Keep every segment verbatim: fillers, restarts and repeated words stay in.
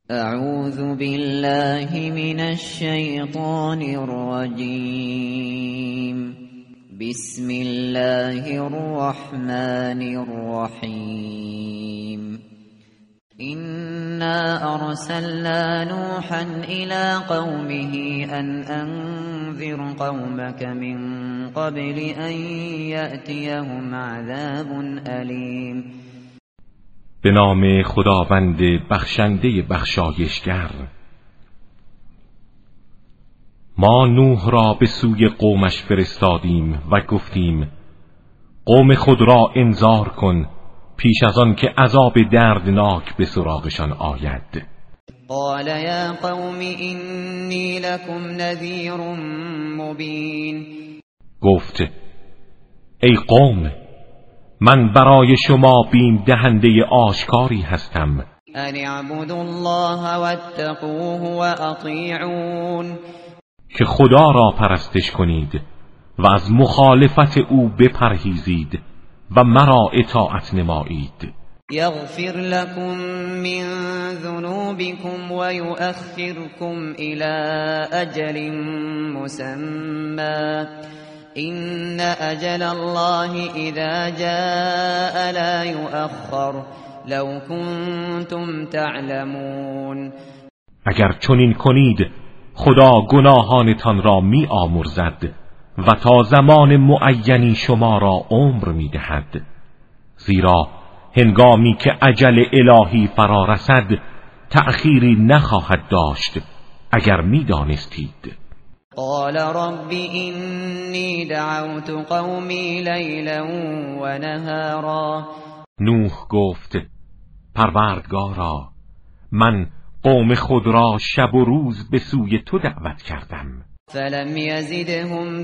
اعوذ بالله من الشیطان الرجیم. بسم الله الرحمن الرحیم. إنا أرسلنا نوحا إلى قومه أن أنذر قومك من قبل أن يأتيهم عذاب أليم. به نام خداوند بخشنده بخشایشگر. ما نوح را به سوی قومش فرستادیم و گفتیم قوم خود را انذار کن پیش از آن که عذاب دردناک به سراغشان آید. قال یا قوم انی لکم نذیر مبین. گفت ای قوم من برای شما بیم دهنده آشکاری هستم. ان اعبدوا الله واتقوه واطیعون. که خدا را پرستش کنید و از مخالفت او بپرهیزید و مرا اطاعت نمایید. یغفر لكم من ذنوبكم ويؤخركم الى اجل مسمى ان اجل الله اذا جاء لا يؤخر لو كنتم تعلمون. اگر چنین کنید خدا گناهانتان را می آمرزد و تا زمان معینی شما را عمر می دهد، زیرا هنگامی که اجل الهی فرا رسد تأخیری نخواهد داشت اگر می دانستید. قال رب اینی دعوت قومی لیلا و نهارا. نوح گفت پروردگارا من قوم خود را شب و روز به سوی تو دعوت کردم. فلم یزدهم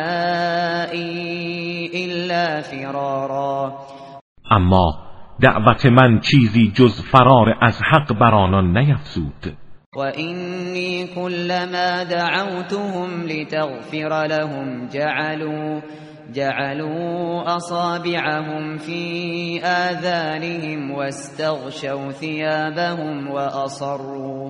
دعائی الا فرارا. اما دعوت من چیزی جز فرار از حق بر آنان نیفزود. و اینی کلما دعوتهم لتغفر لهم جعلوا جعلوا اصابعهم في آذانهم واستغشوا ثيابهم واصروا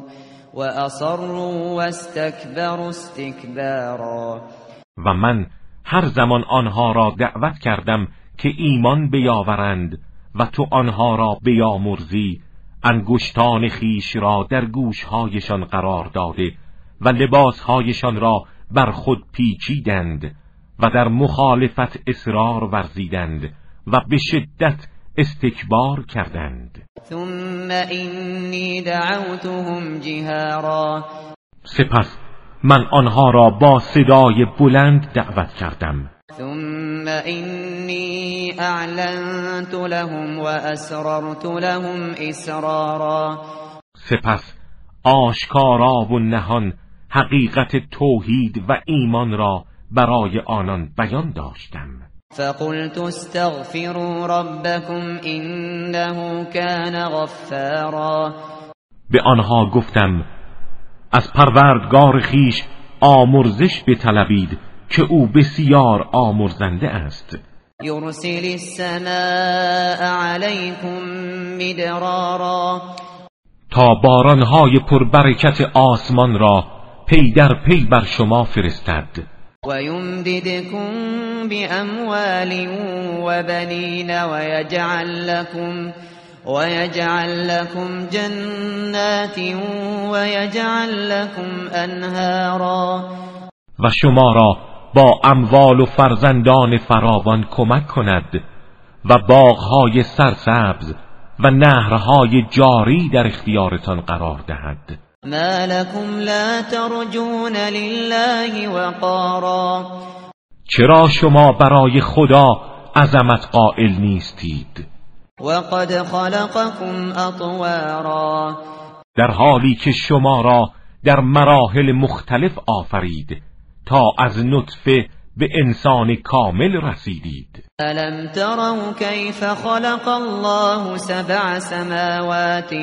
واصروا واستكبروا استكبارا. و من هر زمان آنها را دعوت کردم که ایمان بیاورند و تو آنها را بیامرزی، انگشتان خیش را در گوشهایشان قرار داده و لباسهایشان را بر خود پیچیدند و در مخالفت اصرار ورزیدند و به شدت استکبار کردند. ثم اینی دعوتهم جهارا. سپس من آنها را با صدای بلند دعوت کردم. ثم اینی اعلنت لهم و اسررت لهم اسرارا. سپس آشکارا و نهان حقیقت توحید و ایمان را برای آنان بیان داشتم. فقلت استغفروا ربكم انه كان غفارا. به آنها گفتم از پروردگار خیش آمرزش بطلبید که او بسیار آمرزنده است. یرسل السماء علیکم مدرارا. تا بارانهای پربرکت آسمان را پی در پی بر شما فرستد. و یمددکم باموال و بنین و یجعل لکم و یجعل لکم جنات و یجعل لکم انهارا. و شما را با اموال و فرزندان فراوان کمک کند و باغهای سرسبز و نهرهای جاری در اختیارتان قرار دهد. ما لكم لا ترجون لله وقارا. چرا شما برای خدا عظمت قائل نیستید؟ وقد خلقكم اطوارا. در حالی که شما را در مراحل مختلف آفرید تا از نطفه به انسان کامل رسیدید. الم تروا کیف خلق الله سبع سماوات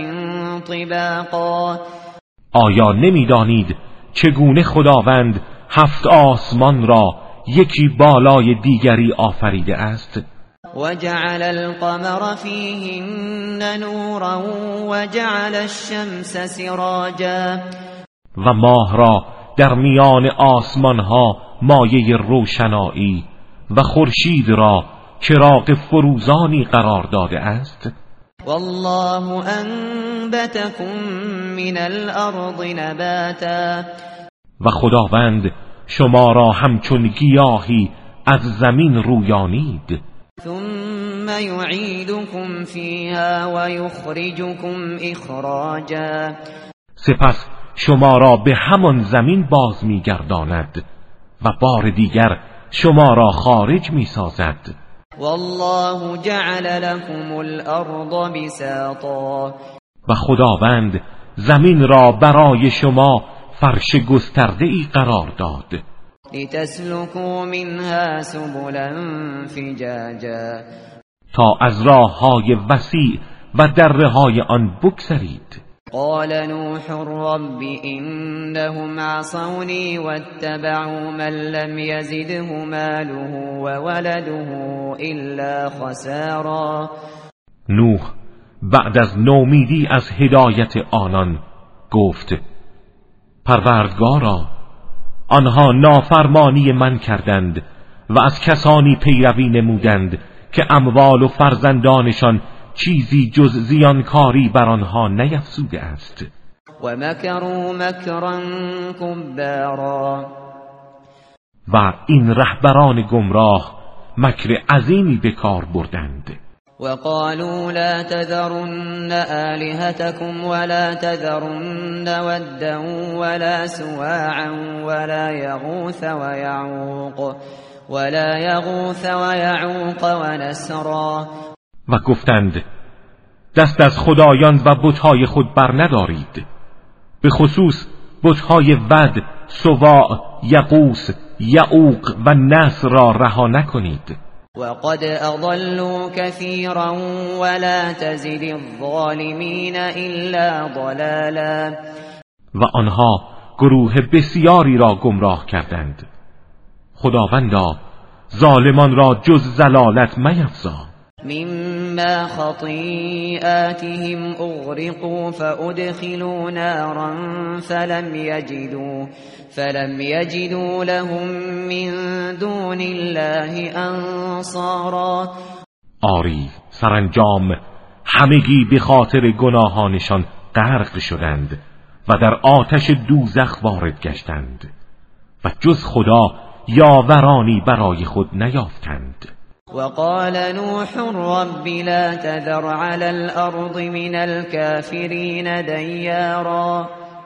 طباقا. آیا نمیدانید چگونه خداوند هفت آسمان را یکی بالای دیگری آفریده است؟ وجعل القمر فيهن نورا وجعل الشمس سراجا و ماه را در میان آسمان ها مایه روشنایی و خورشید را چراغ فروزانی قرار داده است. والله انبتكم من الارض نباتا و خداوند شما را همچون گیاهی از زمین رویانید. ثم يعيدكم فيها ويخرجكم اخراجا سپس شما را به همان زمین باز می‌گرداند و بار دیگر شما را خارج می‌سازد. والله جعل لكم الارض بساطا و خداوند زمین را برای شما فرش گسترده‌ای قرار داد لتسلكوا منها سبلا فجاجا تا از راه‌های وسیع و دره‌های آن بگذرید. قال نوح رب إنهم عصوني واتبعوا من لم يزده ماله وولده إلا خسارا. نوح بعد از نومیدی از هدایت آنان گفت پروردگارا آنها نافرمانی من کردند و از کسانی پیروی نمودند که اموال و فرزندانشان چیزی جز زیانکاری بر آنها نیفزوده است. و مکروا مکرا کبارا و این رهبران گمراه مکر عظیمی به کار بردند. و قالوا لا تذرن آلهتكم ولا تذرن ودا ولا سواعا ولا يغوث ويعوق ولا يغوث ويعوق ونسرا. و گفتند دست از خدایان و بت‌های خود بر ندارید، به خصوص بت‌های ود، سواع، یغوث، یعوق و نسر را رها نکنید. وقد اضلوا كثيرا ولا تزد الظالمين الا ضلالا. و آنها گروه بسیاری را گمراه کردند. خداوندا ظالمان را جز ضلالت میفزا. مما خطيئاتهم اغرقوا فادخلوا نارا فلم يجدوا فلم يجدوا لهم من دون الله انصارا. آری سرانجام همگی به خاطر گناهانشان غرق شدند و در آتش دوزخ وارد گشتند و جز خدا یاورانی برای خود نیافتند. وقال نوح رب لا تذر على الأرض من الكافرين دیارا.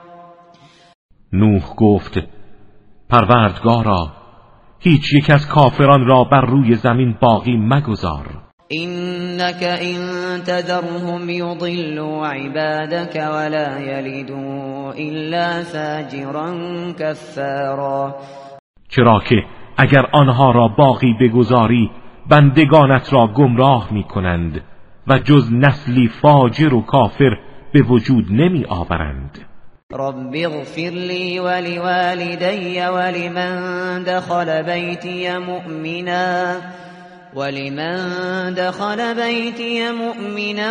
نوح گفت پروردگارا هیچ یک از کافران را بر روی زمین باقی مگذار. إنك إن تذرهم يضلوا عبادك ولا يلدوا إلا فاجرا كفارا. چرا که اگر آنها را باقی بگذاری بندگانت را گمراه می کنند و جز نسلی فاجر و کافر به وجود نمی آورند. رب اغفر لي ولوالدي ولمن دخل بيتي مؤمنا ولمن دخل بيتي مؤمنا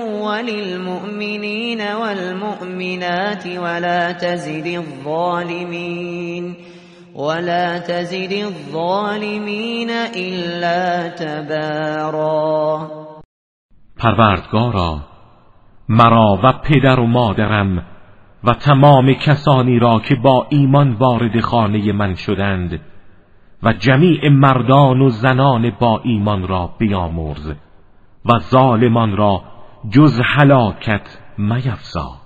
وللمؤمنين والمؤمنات ولا تزد الظالمين ولا تزد الظالمين الا تبارا. پروردگارا مرا و پدر و مادرم و تمام کسانی را که با ایمان وارد خانه من شدند و جمیع مردان و زنان با ایمان را بیامرز و ظالمان را جز هلاکت میفزا.